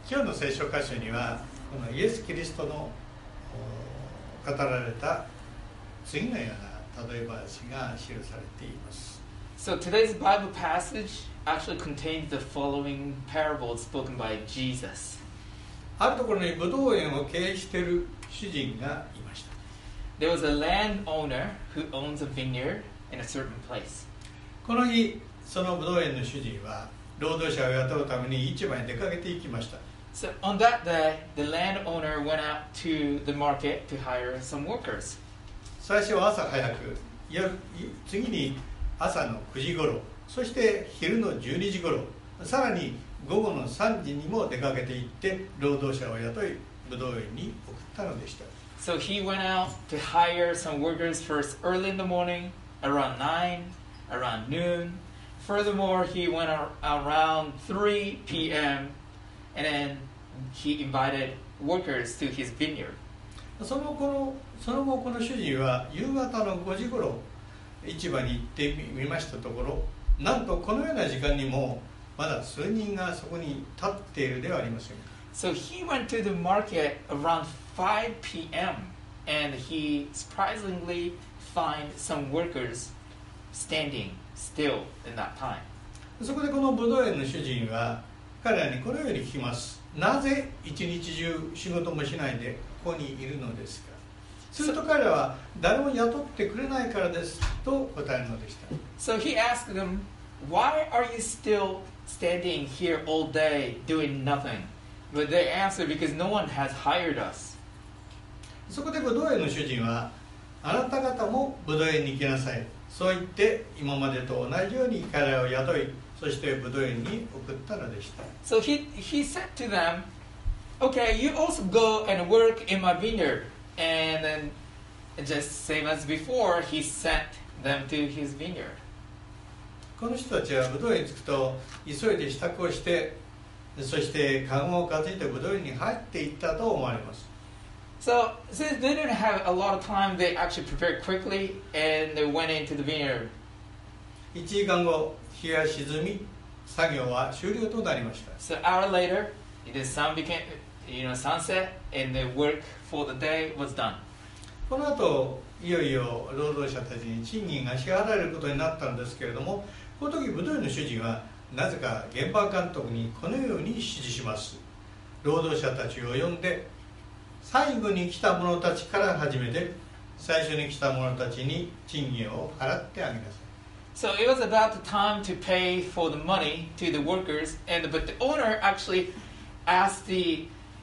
今日の聖書箇所にはこのイエス・キリストの語られた次のような例え話が記されています。 So today's Bible passage actually contains the following parable spoken by Jesus. あるところにブドウ園を経営している主人がいました。 There was a landowner who owns a vineyard in a certain place. この日、そのブドウ園の主人は労働者を雇うために市場に出かけていきました。 So on that day, the landowner went out to the market to hire some workers. 最初は朝早く、次に朝の9時頃、そして昼の12時頃、さらに午後の3時にも出かけていって労働者を雇いブドウ園に送ったのでした。 So he went out to hire some workers first early in the morning, around 9, around noon. Furthermore, he went around 3 p.m. and then he invited workers to his vineyard. その後この主人は夕方の5時頃市場に行ってみましたところ、なんとこのような時間にもまだ数人がそこに立っているではありませんか。 So he went to the market around 5 p.m. and he surprisingly found some workers standing still in that time. そこでこのブドウ園の主人は彼らにこのように聞きます。なぜ一日中仕事もしないでここにいるのですか。すると彼らは誰も雇ってくれないからですと答えるのでした。 So he asked them, "Why are you still standing here all day doing nothing?" But they answered, "Because no one has hired us." そこでブドウ園の主人は、あなた方もブドウ園に行きなさい。そう言って今までと同じように彼らを雇い、そしてブドウ園に送ったのでした。 So he said to them, "Okay, you also go and work in my vineyard." And then, just same as before, he sent them to his vineyard. この人たちはブドウ園に着くと急いで支度をして、そしてカゴを担いでブドウ園に入っていったと思われます。 So, since they didn't have a lot of time, they actually prepared quickly and they went into the vineyard. 1時間後、日が沈み、作業は終了となりました。 So, an hour later, the sun became, sunset, and the work for the day was done. この後、いよいよ労働者たちに賃金が支払われることになったんですけれども、この時ブドウ園の主人はなぜか現場監督にこのように指示します。労働者たちを呼んで、最後に来た者たちから始めて、最初に来た者たちに賃金を払ってあげなさい。 So it was about the time to pay for the money to the workers, but the owner actually asked the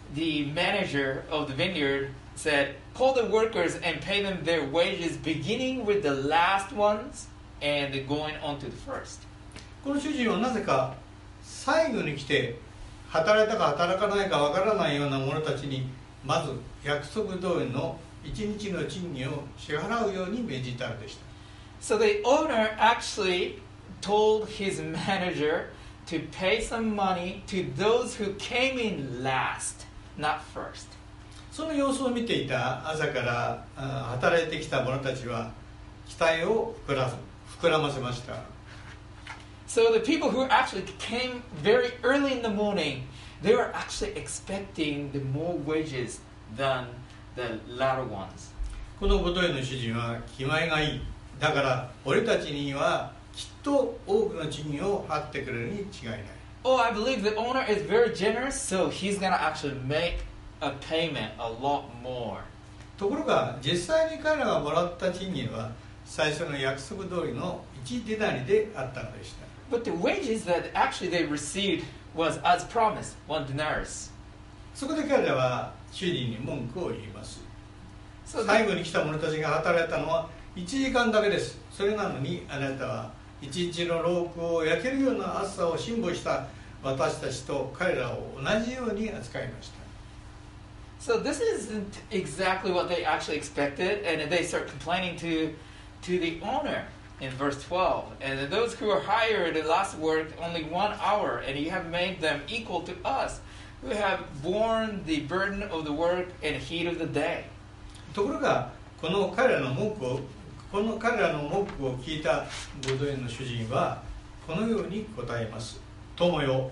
manager of the vineyard, said, "Call the workers and pay them their wages, beginning with the last ones and going on to the first." この主人はなぜか最後に来て働いたか働かないかわからないような者たちにまず約束通りの1日の賃金を支払うように命じたのでした。 So the owner actually told his manager to pay some money to those who came in last, not first. その様子を見ていた朝から働いてきた者たちは期待を膨らませました。 So the people who actually came very early in the morning, they were actually expecting the more wages than the latter ones. このブドウ園の主人は気前がいい。だから俺たちにはきっと多くの賃金を払ってくれるに違いない。 Oh, I believe the owner is very generous, so he's going to actually make a payment a lot more. ところが実際に彼らがもらった賃金は最初の約束通りの1デナリであったのでした。 But the wages that actually they received was as promised, 1 denarius. そこで彼らは主人に文句を言います。 So 最後に来た者たちが働いたのは1時間だけです。それなのにあなたは一日の労苦を焼けるような暑さを辛抱した私たちと彼らを同じように扱いました。 So this isn't exactly what they actually expected, and they start complaining to the owner in verse 12. And those who are hired last worked only 1 hour, and you have made them equal to us, who have borne the burden of the work and heat of the day. ところがこの彼らの文句を聞いたブドウ園の主人はこのように答えます。友よ、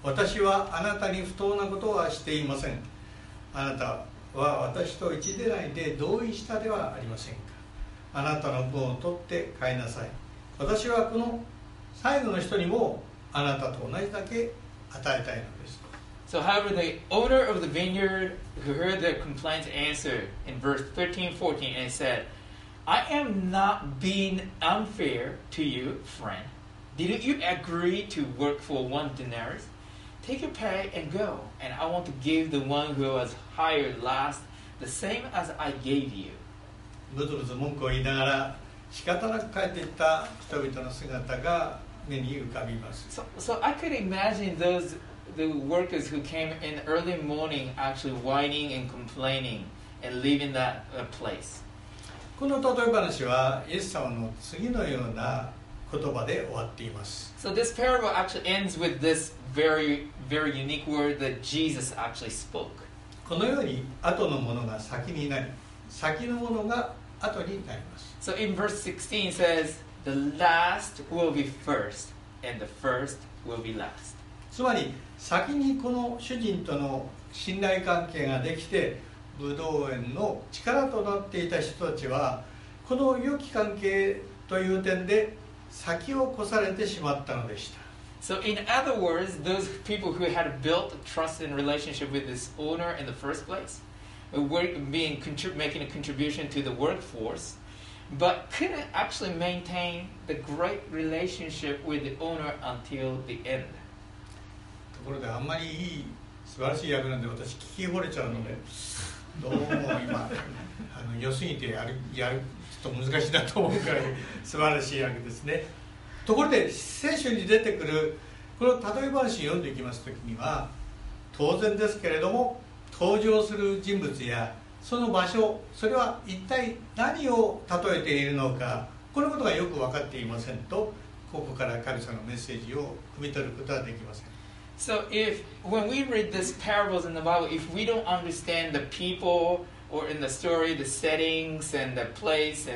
私はあなたに不当なことはしていません。あなたは私と一でないで同意したではありませんか。あなたの分を取って飼いなさい。私はこの最後の人にもあなたと同じだけ与えたいのです。 So, however, the owner of the vineyard who heard their complaints answered in verse 13-14 and said, I am not being unfair to you, friend. Didn't you agree to work for 1 denarius? Take your pay and go, and I want to give the one who was hired last the same as I gave you. ブツブツ文句を言いながら仕方なく帰っていった人々の姿が目に浮かびます。 So I could imagine the workers who came in early morning actually whining and complaining and leaving that place. この例え話はイエス様の次のような言葉で終わっています。 So this parable actually ends with this very, very unique word that Jesus actually spoke. このように後のものが先になり、先のものが後になります。 So in verse 16 says, the last will be first, and the first will be last. つまり先にこの主人との信頼関係ができてブドウ園の力となっていた人たちはこの良き関係という点で先を越されてしまったのでした。 So in other words, those people who had built a trust and relationship with this owner in the first place were making a contribution to the workforce, but couldn't actually maintain the great relationship with the owner until the end. ところであんまりいい素晴らしい役なんで私聞き惚れちゃうのでどうも今良すぎてやるちょっと難しいなと思うくらい素晴らしい役ですね。ところで聖書に出てくるこの例え話を読んでいきますときには当然ですけれども登場する人物やその場所それは一体何を例えているのかこのことがよく分かっていませんとここから神様のメッセージを汲み取ることはできません。 So when we read these parables in the Bible, if we don't understand the people or in the story, the settings and the place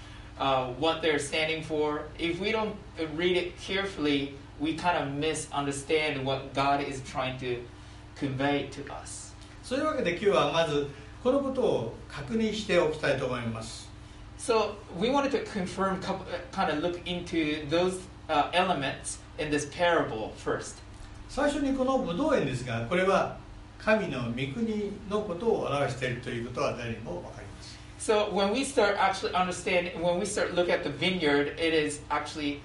and what they're standing for, if we don't read it carefully, we kind of misunderstand what God is trying to convey to us. そういうわけで今日はまずこのことを確認しておきたいと思います。 So we wanted to confirm, kind of look into those elements in this parable first. 最初にこのブドウ園ですがこれは神の御国のことを表しているということは誰にも分かります。 So when we start actually understanding, when we start look at the vineyard, it is actually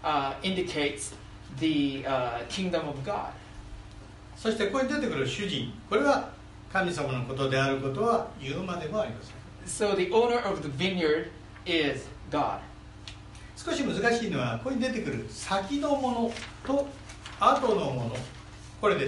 indicates the kingdom of God. そしてここに出てくる主人これは神様のことであることは言うまでもありません。 So the owner of the vineyard is God. 少し難しいのはここに出てくる先のものと後のものこれです。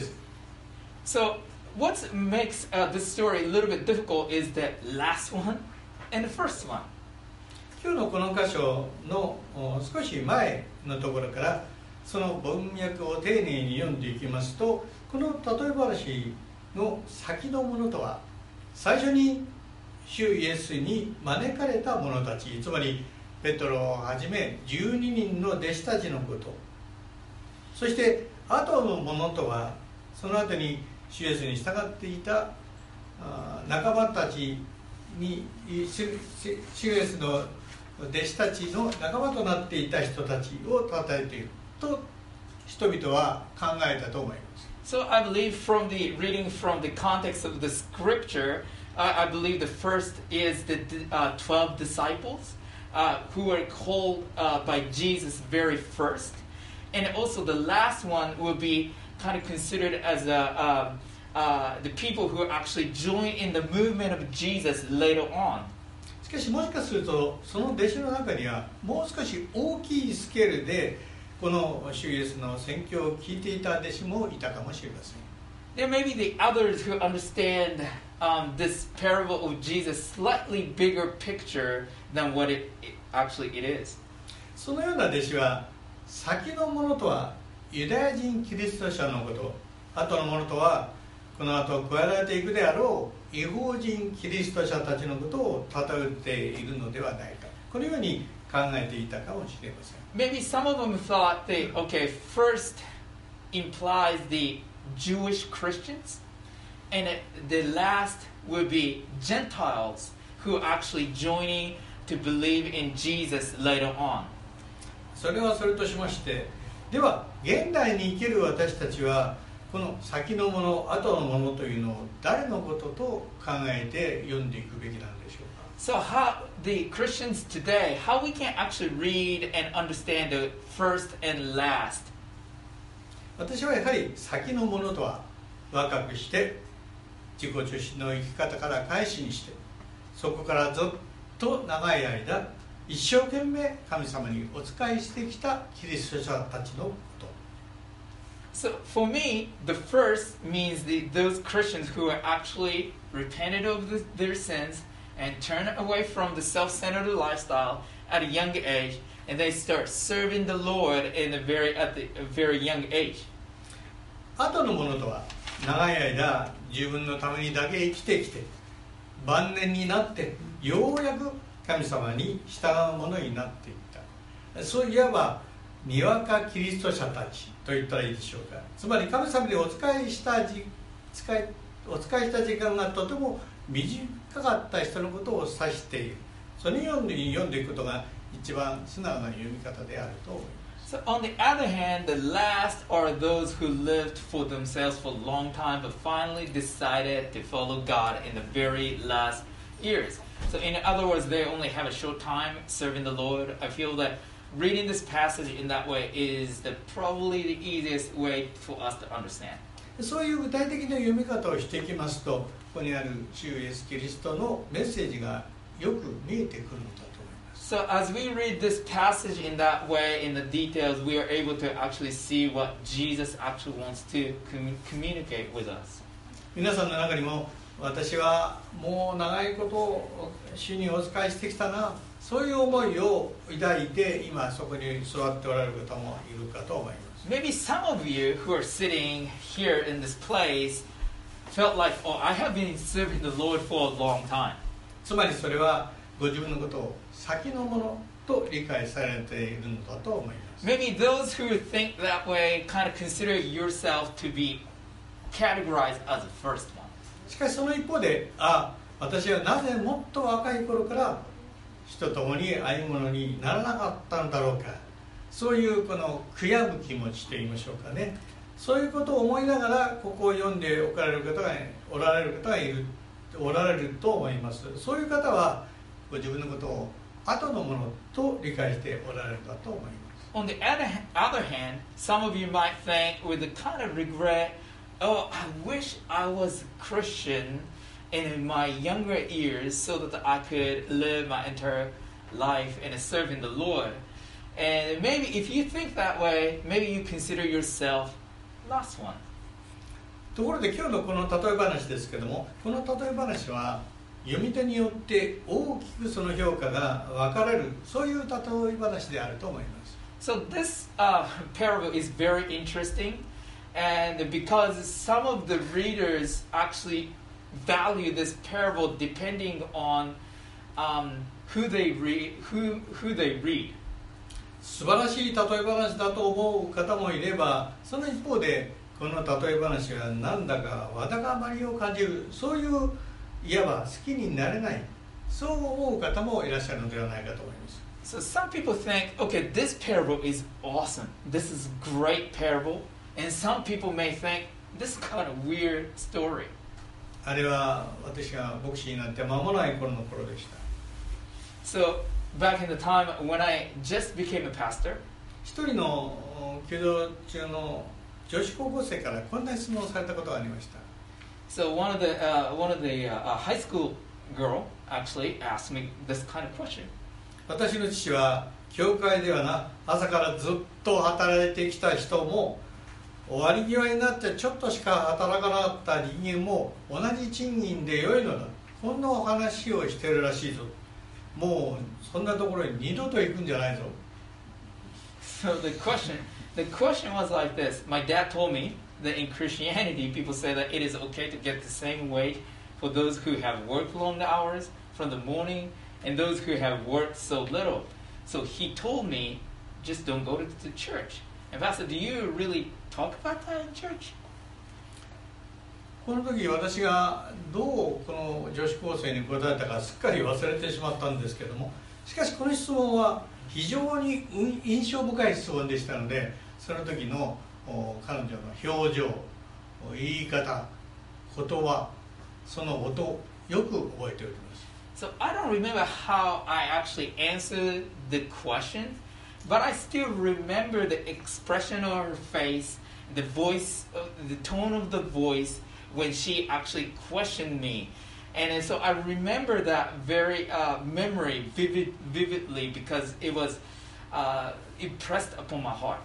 So what makes this story a little bit difficult is the last one and the first one. 今日のこの箇所の少し前のところからその文脈を丁寧に読んでいきますとこの例え話の先のものとは最初に主イエスに招かれた者たちつまりペトロをはじめ12人の弟子たちのことそして後のものとはその後に主イエスに従っていた仲間たちに主イエスの弟子たちの仲間となっていた人たちを称えていると人々は考えたと思います。 So I believe from the reading from the context of the scripture, I believe the first is the 12 disciples who were called by Jesus very first. And also the last one will be kind of considered as the people who actually joined in the movement of Jesus later on. しかしもしかするとその弟子の中にはもう少し大きいスケールでこの主イエスの宣教を聞いていた弟子もいたかもしれません。 There may be the others who understand this parable of Jesus slightly bigger picture than what it actually it is. そのような弟子は先のものとはユダヤ人キリスト者のこと後のものとはこの後加えられていくであろう異邦人キリスト者たちのことを例えているのではないかこのように考えていたかもしれません。 Maybe some of them thought that, okay, first implies the Jewish Christians, and the last would be Gentiles who are actually joining to believe in Jesus later on. それはそれとしまして、では現代に生きる私たちはこの先のもの後のものというのを誰のことと考えて読んでいくべきなんでしょうか。 So how the Christians today, how we can actually read and understand the first and last? 私はやはり先のものとは若くして自己中心の生き方から改心して、そこからずっと長い間一生懸命神様にお仕えしてきたキリスト者たちのこと。 So for me, the first means those Christians who are actually repented of their sins and turn away from the self-centered lifestyle at a young age, and they start serving the Lord at a very young age. 後のものとは長い間自分のためにだけ生きてきて晩年になってようやく神様に従うものになっていった、そういわばにわかキリスト者たちと言ったらいいでしょうか。つまり神様にお仕えした時間がとても短かった人のことを指している。そのように読んでいくことが一番素直な読み方であると思います。 So on the other hand, the last are those who lived for themselves for a long time but finally decided to follow God in the very last years. So in other words, they only have a short time serving the Lord. I feel that reading this passage in that way is probably the easiest way for us to understand. そういう具体的な読み方をしていきますと、ここにある主イエスキリストのメッセージがよく見えてくるのだと思います。 So as we read this passage in that way, in the details, we are able to actually see what Jesus actually wants to communicate with us. 皆さんの中にも私はもう長いこと主にお仕えしてきたな、そういう思いを抱いて今そこに座っておられる方もいるかと思います。 Maybe some of you who are sitting here in this place felt like, oh, I have been serving the Lord for a long time. つまりそれはご自分のことを先のものと理解されているのだと思います。 Maybe those who think that way kind of consider yourself to be categorized as the first one. しかしその一方で、私はなぜもっと若い頃から主と共に歩むものにならなかったのだろうか、そういうこの悔やむ気持ちといいましょうかね、そういうことを思いながらここを読んでおられる方がおられると思います。そういう方はご自分のことを後のものと理解しておられるんだと思います。 On the other hand, some of you might think with a kind of regret, oh, I wish I was a Christian in my younger years so that I could live my entire life and serving the Lord. And maybe if you think that way, maybe you consider yourself last one. ところで今日のこの例え話ですけども、この例え話は読み手によって大きくその評価が分かれる、そういう例え話であると思います。 So this parable is very interesting, and because some of the readers actually value this parable depending on who they read. 素晴らしい例え話だと思う方もいれば、その一方でこの例え話はなんだかわだかまりを感じる、そういういわば好きになれない、そう思う方もいらっしゃるのではないかと思います。 So some people think, okay, this parable is awesome. This is a great parable. And some people may think, this is kind of weird story. あれは私が牧師になって間もない頃の頃でした。 So back in the time when I just became a pastor, 一人の弓道中の女子高校生からこんな質問をされたことがありました。 so one of the high school girl actually asked me this kind of question. 私の父は教会ではな、朝からずっと働いてきた人も終わり際になってちょっとしか働かなかった人間も同じ賃金で良いのだ、こんなお話をしてるらしいぞ、もうそんなところに二度と行くんじゃないぞ。 So the question was like this. My dad told me that in Christianity, people say that it is okay to get the same wage for those who have worked long hours from the morning and those who have worked so little. So he told me, just don't go to the church. And Pastor, do you really talk about that in church? この時私がどうこの女子高生に答えたかすっかり忘れてしまったんですけども、しかしこの質問は非常に印象深い質問でしたので、その時の彼女の表情、言い方、言葉、その音をよく覚えております。 So I don't remember how I actually answered the question, but I still remember the expression of her face, the voice, the tone of the voice when she actually questioned me. And so I remember that very memory vividly because it was impressed upon my heart.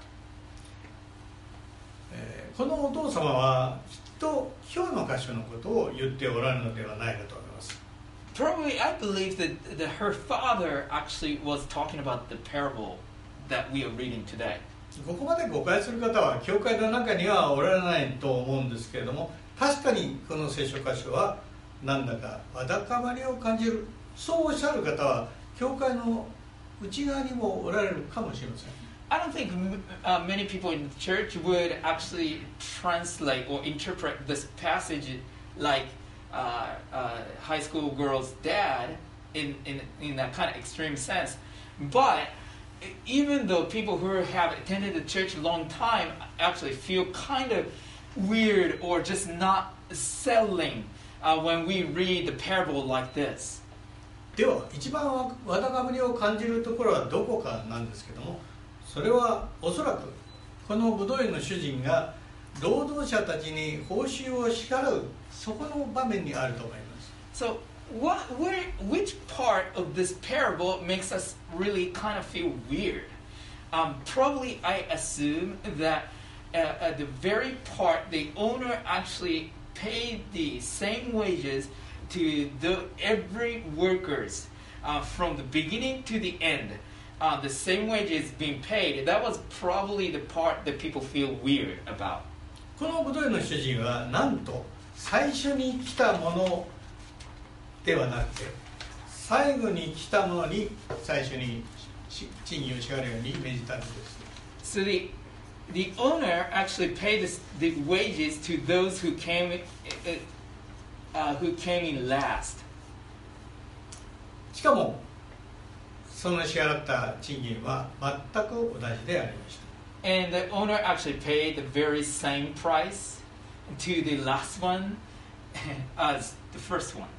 このお父様はきっと今日の箇所のことを言っておられるのではないかと思います。 Probably, I believe that her father actually was talking about the parable that we are reading today. ここまで誤解する方は教会の中にはおられないと思うんですけれども、確かにこの聖書箇所はなんだかわだかまりを感じる、そうおっしゃる方は教会の内側にもおられるかもしれません。 I don't think many people in the church would actually translate or interpret this passage like high school girl's dad in that kind of extreme sense. But even though people who have attended the church a long time actually feel kind of weird or just not settling when we read the parable like this. では一番わだかまりを感じるところはどこかなんですけども、それはおそらくこのブドウ園の主人が労働者たちに報酬を支払うそこの場面にあると思います。 So which part of this parable makes us really kind of feel weird? Probably I assume that at the very part the owner actually paid the same wages to every workers from the beginning to the end. The same wages being paid. That was probably the part that people feel weird about. このブドウ園の主人はなんと最初に来たものではなくて最後に来たものに最初に賃金を支払うように命じたんです。 So the owner actually paid the wages to those who came in last. しかもその支払った賃金は全く同じでありました。 And the owner actually paid the very same price to the last one as the first one.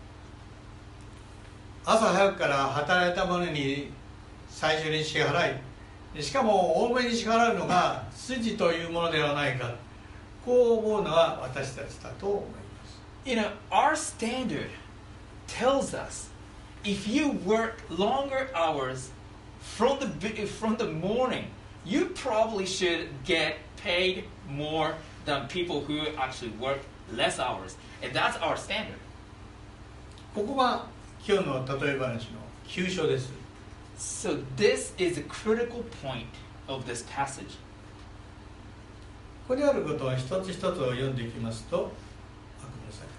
朝早くから働いた者に最初に支払い、しかも多めに支払うのが筋というものではないか、こう思うのは私たちだと思います。 You know, our standard tells us if you work longer hours from the morning, you probably should get paid more than people who actually work less hours. And that's our standard. ここが今日の例え話の急所です。 So this is a critical point of this passage. ここにあることを一つ一つを読んでいきますと、ごめんなさい。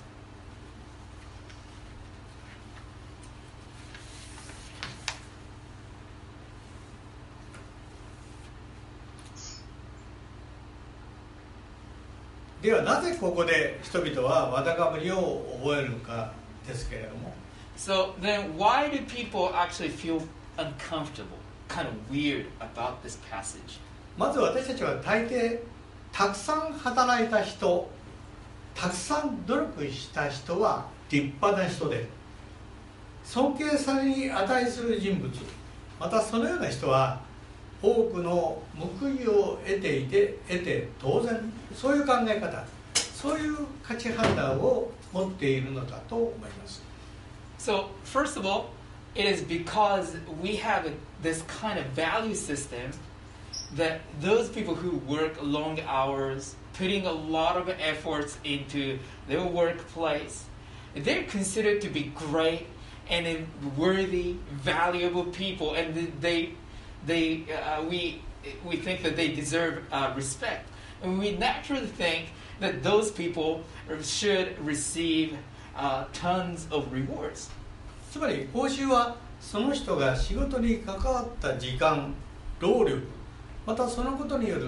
ではなぜここで人々はわだかまりを覚えるのかですけれども。 So then why do people actually feel uncomfortable, kind of weird about this passage? まず私たちは大抵たくさん働いた人、たくさん努力した人は立派な人で尊敬されに値する人物、またそのような人は多くの報いを得て当然、そういう考え方、そういう価値判断を持っているのだと思います。 So first of all, it is because we have this kind of value system that those people who work long hours, putting a lot of efforts into their workplace, they're considered to be great and worthy, valuable people, and we think that they deserve respect. And we naturally think that those people should receive tons of rewards. つまり報酬はその人が仕事に関わった時間、労力、またそのことによる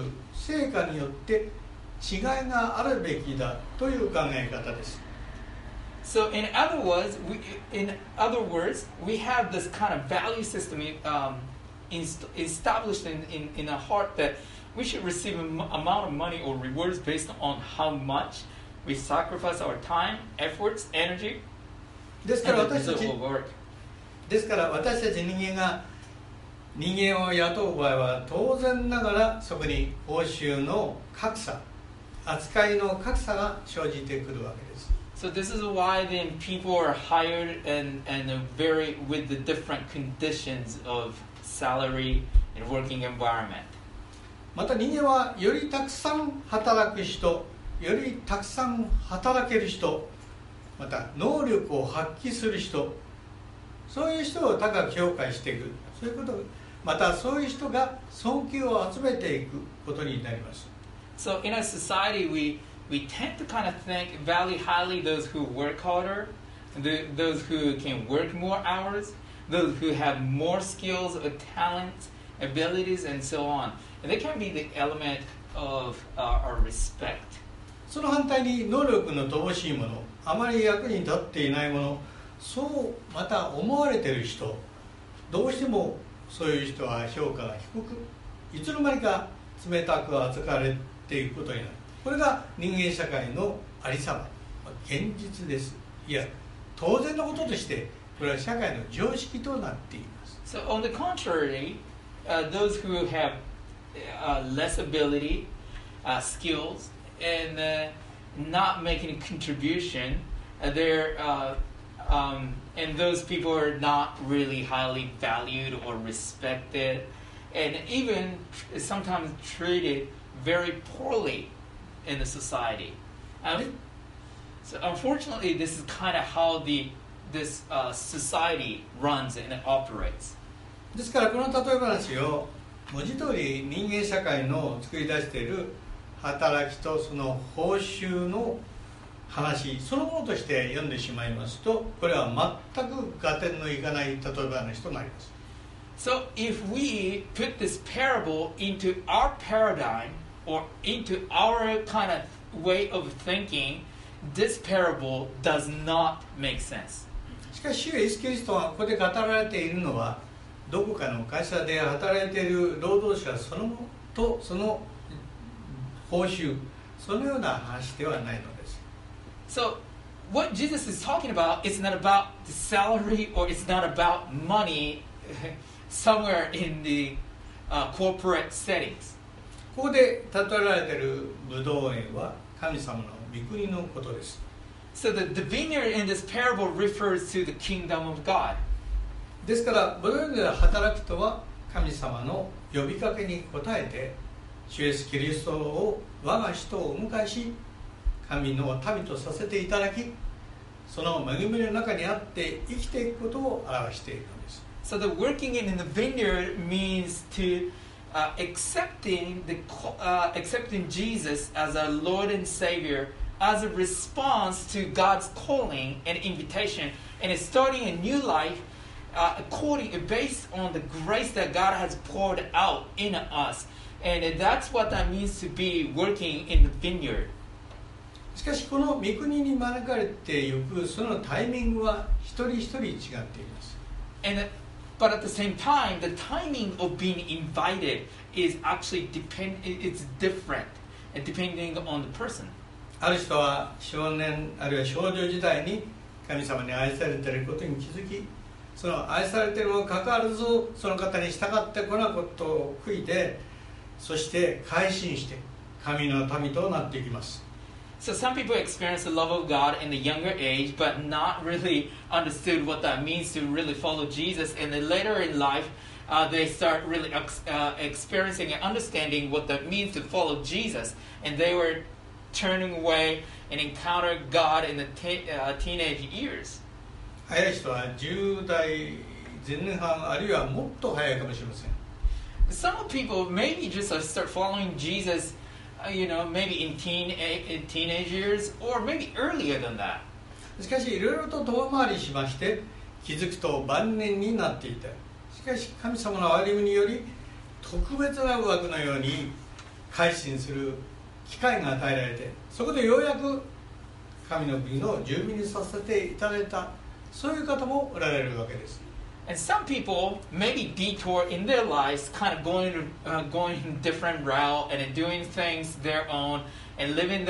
成果によって違いがあるべきだという考え方です。 So in other words, we have this kind of value system established in our heart that we should receive an amount of money or rewards based on how much we sacrifice our time, efforts, energy, ですから and the 私た result ち will work. ですから私たち人間が人間を雇う場合は当然ながらそこに報酬の格差、扱いの格差が生じてくるわけです。 So this is why then people are hired and vary with the different conditions of salary and working environment. また人間はよりたくさん働く人、よりたくさん働ける人、また能力を発揮する人、そういう人を高く評価していく、そういうこと、またそういう人が尊敬を集めていくことになります。 So in a society, we tend to kind of value highly those who work harder, those who can work more hours, those who have more skills, talents, abilities, and so on. And they can be the element of our respect. その反対に能力の乏しいもの、あまり役に立っていないもの、そうまた思われている人、どうしてもそういう人は評価が低く、いつの間にか冷たく扱われていくことになる。これが人間社会のありさま、現実です。いや、当然のこととしてこれは社会の常識となっています。 So on the contrary, those who have less ability, skills, and not making a contribution, and those people are not really highly valued or respected, and even sometimes treated very poorly in the society. So unfortunately, this is kind of how this society runs and operates. ですからこの例え話を文字通り人間社会の作り出している働きとその報酬の話そのものとして読んでしまいますと、これは全く合点のいかない例え話となります。 So if we put this parable into our paradigm or into our kind of way of thinking, this parable does not make sense. しかし主イエス・キリストがここで語られているのは、どこかの会社で働いている労働者そのものとその報酬、そのような話ではないのです。 So what Jesus is talking about is not about the salary or it's not about money somewhere in the corporate settings. ここで例えられているブドウ園は神様の御国のことです。 So the vineyard in this parable refers to the kingdom of God. ですからブドウ園で働くとは神様の呼びかけに応えて主イエスキリストを我が人をお迎えし神の民とさせていただき、その恵みの中にあって生きていくことを表しているのです。 So the working in the vineyard means to accepting Jesus as our Lord and Savior as a response to God's calling and invitation, and it's starting a new life based on the grace that God has poured out in us, and that's what that means to be working in the vineyard. しかしこの御国に招かれていくそのタイミングは一人一人違っています。 But at the same time, the timing of being invited is actually it's different, depending on the person. ある人は少年あるいは少女時代に神様に愛されていることに気づき、その愛されているにもかかわらずその方に従ってこないことを悔いて、そして改心して神の民となっていきます。 So some people experience the love of God in the younger age, but not really understood what that means to really follow Jesus. And then later in life, they start really experiencing and understanding what that means to follow Jesus. And they were turning away and encounter God in the teenage years. 早い人は10代前半あるいはもっと早いかもしれません。 Some people maybe just start following Jesus, maybe in teenage years or maybe earlier than that. しかしいろいろと遠回りしまして気づくと晩年になっていた。しかし神様の憐れみにより特別な枠のように改心する機会が与えられて、そこでようやく神の国の住民にさせていただいた、そういう方もおられるわけです。 And some people maybe detour in their lives, kind of going a different route and doing things their own and living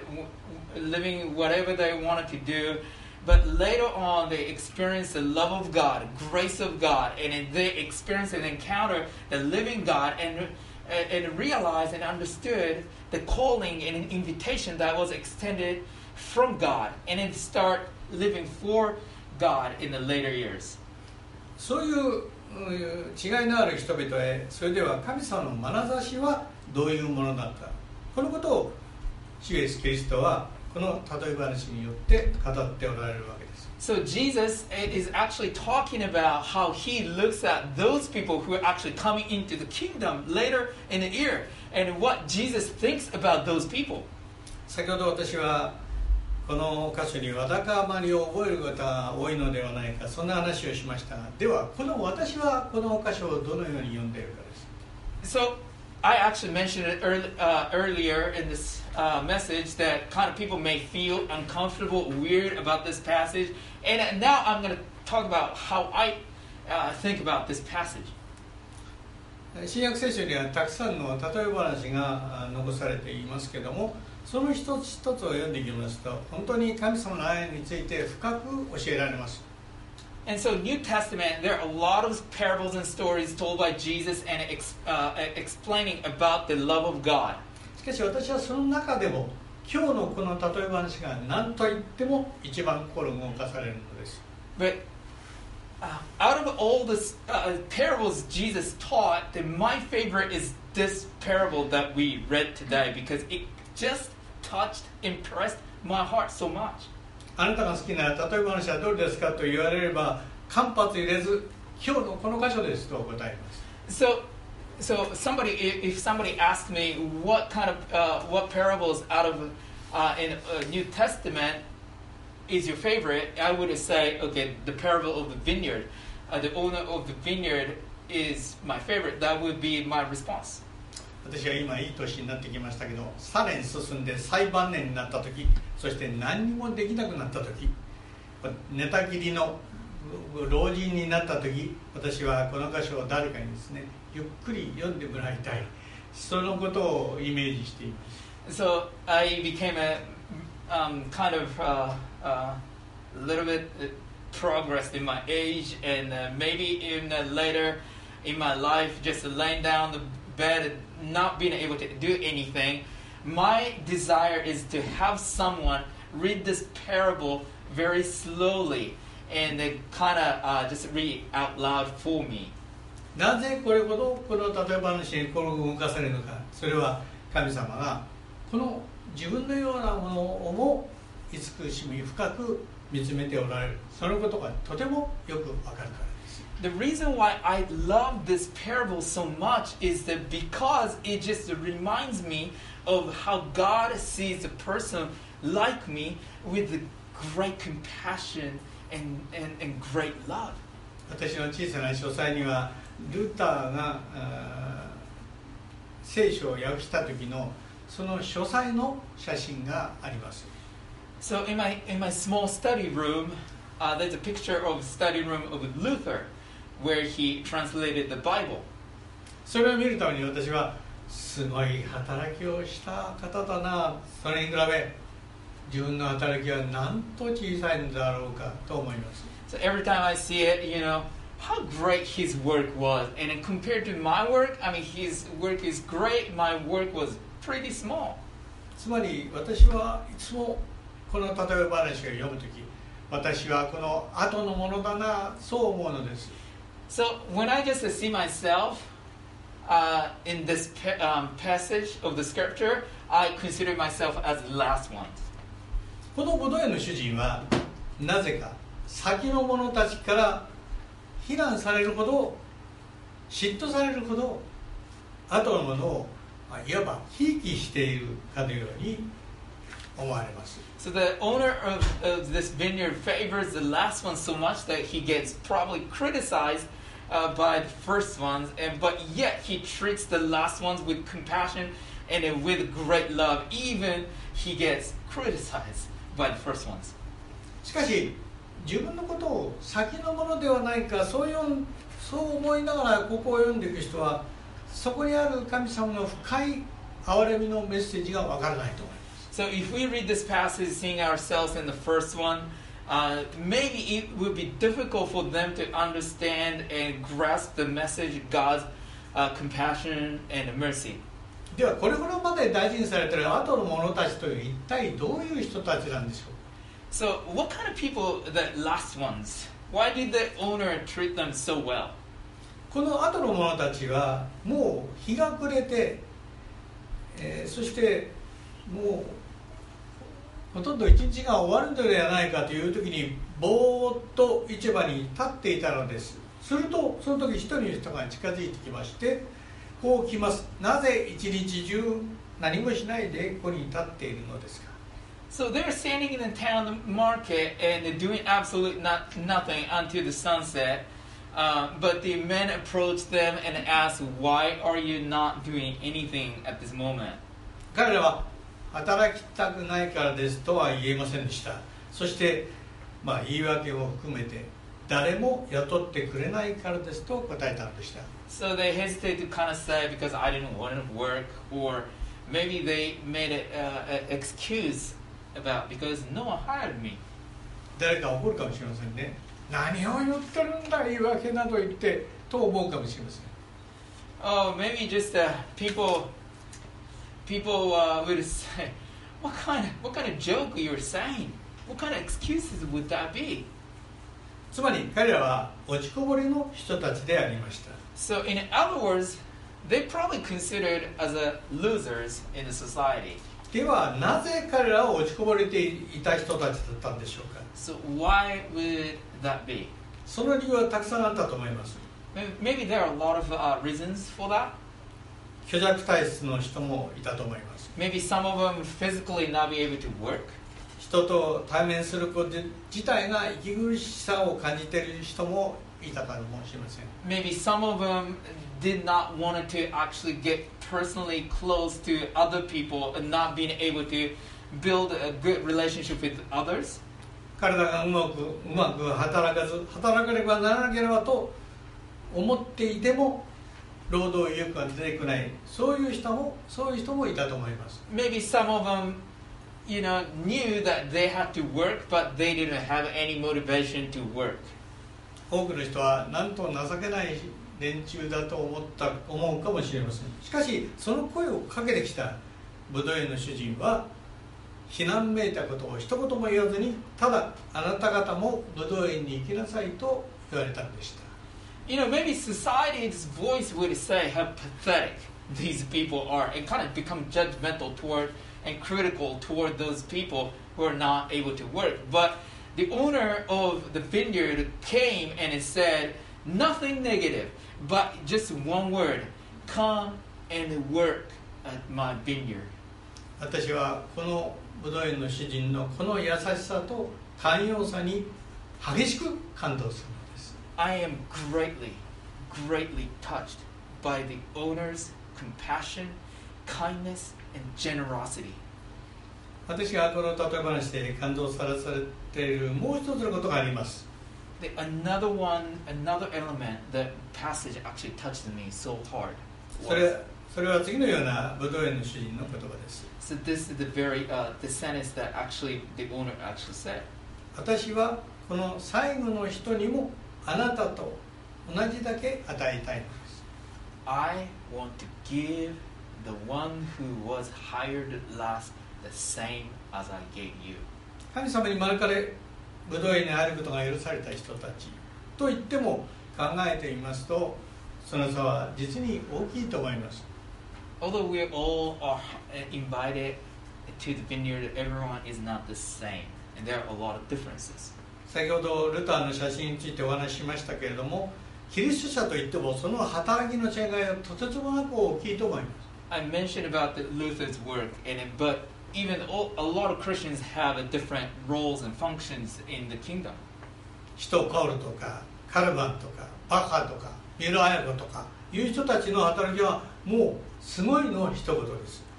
whatever they wanted to do. But later on, they experience the love of God, grace of God, and they experience and encounter the living God and realize and understood the calling and an invitation that was extended from God, and then start living for God in the later years. そういう違いのある人々へ、それでは神様の眼差しはどういうものだった、このことを主イエスキリストはこの例え話によって語っておられるわけです。 So Jesus is actually talking about how he looks at those people who are actually coming into the kingdom later in the year, and what Jesus thinks about those people. 先ほど私はこの箇所にわだかまりを覚える方が多いのではないか、そんな話をしましたが、では私はこの箇所をどのように読んでいるかです。 So I actually mentioned it earlier in this message that kind of people may feel uncomfortable, weird about this passage, and now I'm going to talk about how I think about this passage. 新約聖書にはたくさんの例え話が残されていますけれども、その一つ一つを読んでいきますと、本当に神様の愛について深く教えられます。 And so New Testament, there are a lot of parables and stories told by Jesus and explaining about the love of God. しかし私はその中でも今日のこの例え話が何と言っても一番心動かされるのです。 But out of all the parables Jesus taught, my favorite is this parable that we read today because it just touched, impressed my heart so much. あなたが好きな例え話はどれですかと言われれば間髪入れず、今日のこの箇所ですと答えます。 So if somebody asked me what parables out of in New Testament is your favorite, I would say, okay, the parable of the vineyard. The owner of the vineyard is my favorite. That would be my response. 私は今いい年になってきましたけど、さらに進んで最晩年になった時、そして何にもできなくなった時、寝たきりの老人になった時、私はこの箇所を誰かにですね、ゆっくり読んでもらいたい、そのことをイメージしています。 So I became a kind of a little bit progressed in my age, and maybe even later in my life, just laying down the bed and not being able to do anything. My desire is to have someone read this parable very slowly and then kind of just read it out loud for me. なぜこれほどこの例え話に心を動かされるのか、それは神様がこの自分のようなものをも慈しみ深く見つめておられる、そのことがとてもよくわかるからです。 The reason why I love this parable so much is that because it just reminds me of how God sees a person like me with great compassion and great love. 私の小さな書斎にはルターが聖書を訳した時のその書斎の写真があります。 So in my small study room, there's a picture of the study room of Luther, where he translated the Bible. それを見るために私はすごい働きをした方だな、それに比べ自分の働きはなんと小さいんだろうかと思います。 So every time I see it, how great his work was, and then compared to my work, I mean, his work is great. My work was pretty small. つまり私はいつもこの例え話を読むとき、私はこの後のものだな、そう思うのです。 So when I just see myself in this passage of the scripture, I consider myself as the last one. この五道園の主人はなぜか先の者たちから非難されるほど、嫉妬されるほど、後のものをいわばひいきしているかのように思われます。 So the owner of this vineyard favors the last one so much that he gets probably criticized by the first ones, but yet he treats the last ones with compassion and then with great love, even he gets criticized by the first ones. しかし自分のことを先のものではないか、そう思いながらここを読んでいく人は、そこにある神様の深い憐れみのメッセージがわからないと思います。 So if we read this passage, seeing ourselves in the first one, maybe it would be difficult for them to understand and grasp the message of God's compassion and mercy. ではこれほどまで大事にされている後の者たちという一体どういう人たちなんでしょうか。 So what kind of people, the last ones? Why did the owner treat them so well? この後の者たちはもう日が暮れて、そしてもうほとんど一日が終わるのではないかという時にぼーっと市場に立っていたのです。するとその時一人の人が近づいてきまして、こう来ます。なぜ一日中何もしないでここに立っているのですか。 So they're standing in the town market and they're doing absolutely nothing until the sunset. But the men approached them and asked, "Why are you not doing anything at this moment?" 彼らは働きたくないからですとは言えませんでした。そして、言い訳を含めて誰も雇ってくれないからですと答えたのでした。 So they hesitated to kind of say because I didn't want to work, or maybe they made an excuse about because no one hired me. 誰か怒るかもしれませんね。何を言ってるんだ言い訳など言ってと思うかもしれません。 Oh, maybe just people would say, what kind of joke you're saying? What kind of excuses would that be? つまり彼らは落ちこぼれの人たちでありました。 So in other words, they probably considered as losers in the society. ではなぜ彼らは落ちこぼれていた人たちだったんでしょうか。 So why would that be? その理由はたくさんあったと思います。 Maybe there are a lot of reasons for that. 虚弱体質の人もいたと思います。 Maybe some of them physically not be able to work. 人と対面すること自体が息苦しさを感じている人もいたかもしれません。 Maybe some of them did not want to actually get personally close to other people and not being able to build a good relationship with others. 体がうまく働かねばならなければと思っていても労働意欲が出てこない、そういう人もいたと思います。 Maybe some of them, knew that they had to work, but they didn't have any motivation to work. 多くの人はなんと情けない連中だと思うかもしれません。しかしその声をかけてきたブドウ園の主人は非難めいたことを一言も言わずに、ただあなた方もブドウ園に行きなさいと言われたのでした。 Maybe society's voice would say how pathetic these people are and kind of become judgmental toward and critical toward those people who are not able to work. But the owner of the vineyard came and it said nothing negative, but just one word: come and work at my vineyard. 私はこのブドウ園の主人のこの優しさと寛容さに激しく感動するのです。 I am greatly touched by the owner's compassion, kindness, and generosity. 私がこの例え話で感動されているもう一つのことがあります。 Another element, the passage actually touched me so hard. それは次のようなブドウ園の主人の言葉です。 So this is the sentence that actually the owner actually said. 私はこの最後の人にもあなたと同じだけ与えたいのです。 I want to give the one who was hired last the same as I gave you. 神様に招かれブドウ園に入ることが許された人たちと言っても考えてみますと、その差は実に大きいと思います。 Although we all are invited to the vineyard, everyone is not the same, and there are a lot of differences. 先ほどルターの写真についてお話ししましたけれども、キリスト者といってもその働きの違いはとてつもなく大きいと思います。 I mentioned about Luther's work, but even a lot of Christians have different roles and functions in the kingdom. 使徒パウロとかカルバンとかバッハとか三浦綾子とかいう人たちの働きはもうすごいの一言です。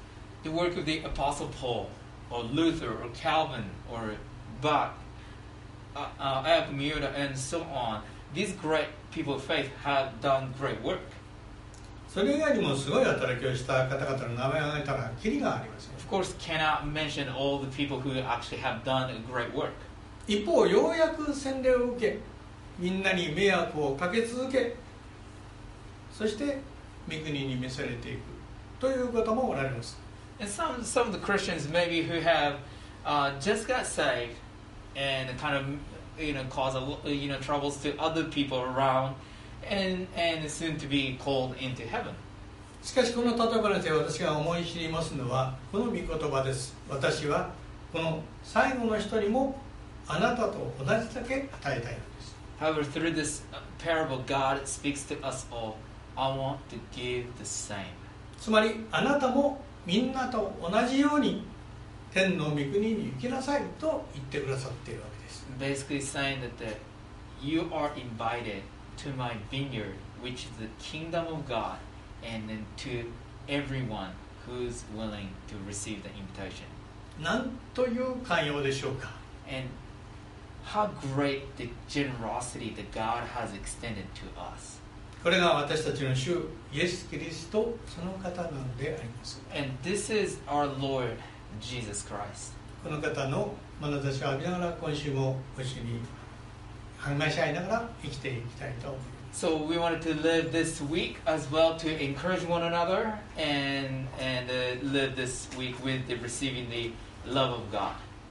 the work of the Apostle Paul, or Luther, or Calvin, or Bach, Alchemia, and so on. These great people of faith have done great work. それ以外にもすごい働きをした方々の名前を挙げたらキリがありません。 Of course, cannot mention all the people who actually have done a great work. 一方、ようやく洗礼を受け、みんなに迷惑をかけ続け、そして御国に召されていくという方もおられます。 And some of the Christians maybe who have just got saved and kind of cause troubles to other people around, and soon to be called into heaven. しかしこの例え話で私が思い知りますのはこの御言葉です。私はこの最後の人にもあなたと同じだけ与えたいのです。 However, through this parable, God speaks to us all. I want to give the same. つまりあなたもみんなと同じように天の御国に行きなさいと言ってくださっているわけです。 Basically saying that you are invited to my vineyard, which is the kingdom of God, and then to everyone who's willing to receive the invitation. なんという寛容でしょうか。 And how great the generosity that God has extended to us. これが私たちの主イエス・キリストその方なのであります。 And this is our Lord Jesus Christ. この方の眼差しを浴びながら今週もご一緒に励まし合いながら生きていきたいと思います。 So we wanted to live this week as well to encourage one another and live this week with receiving the love of God.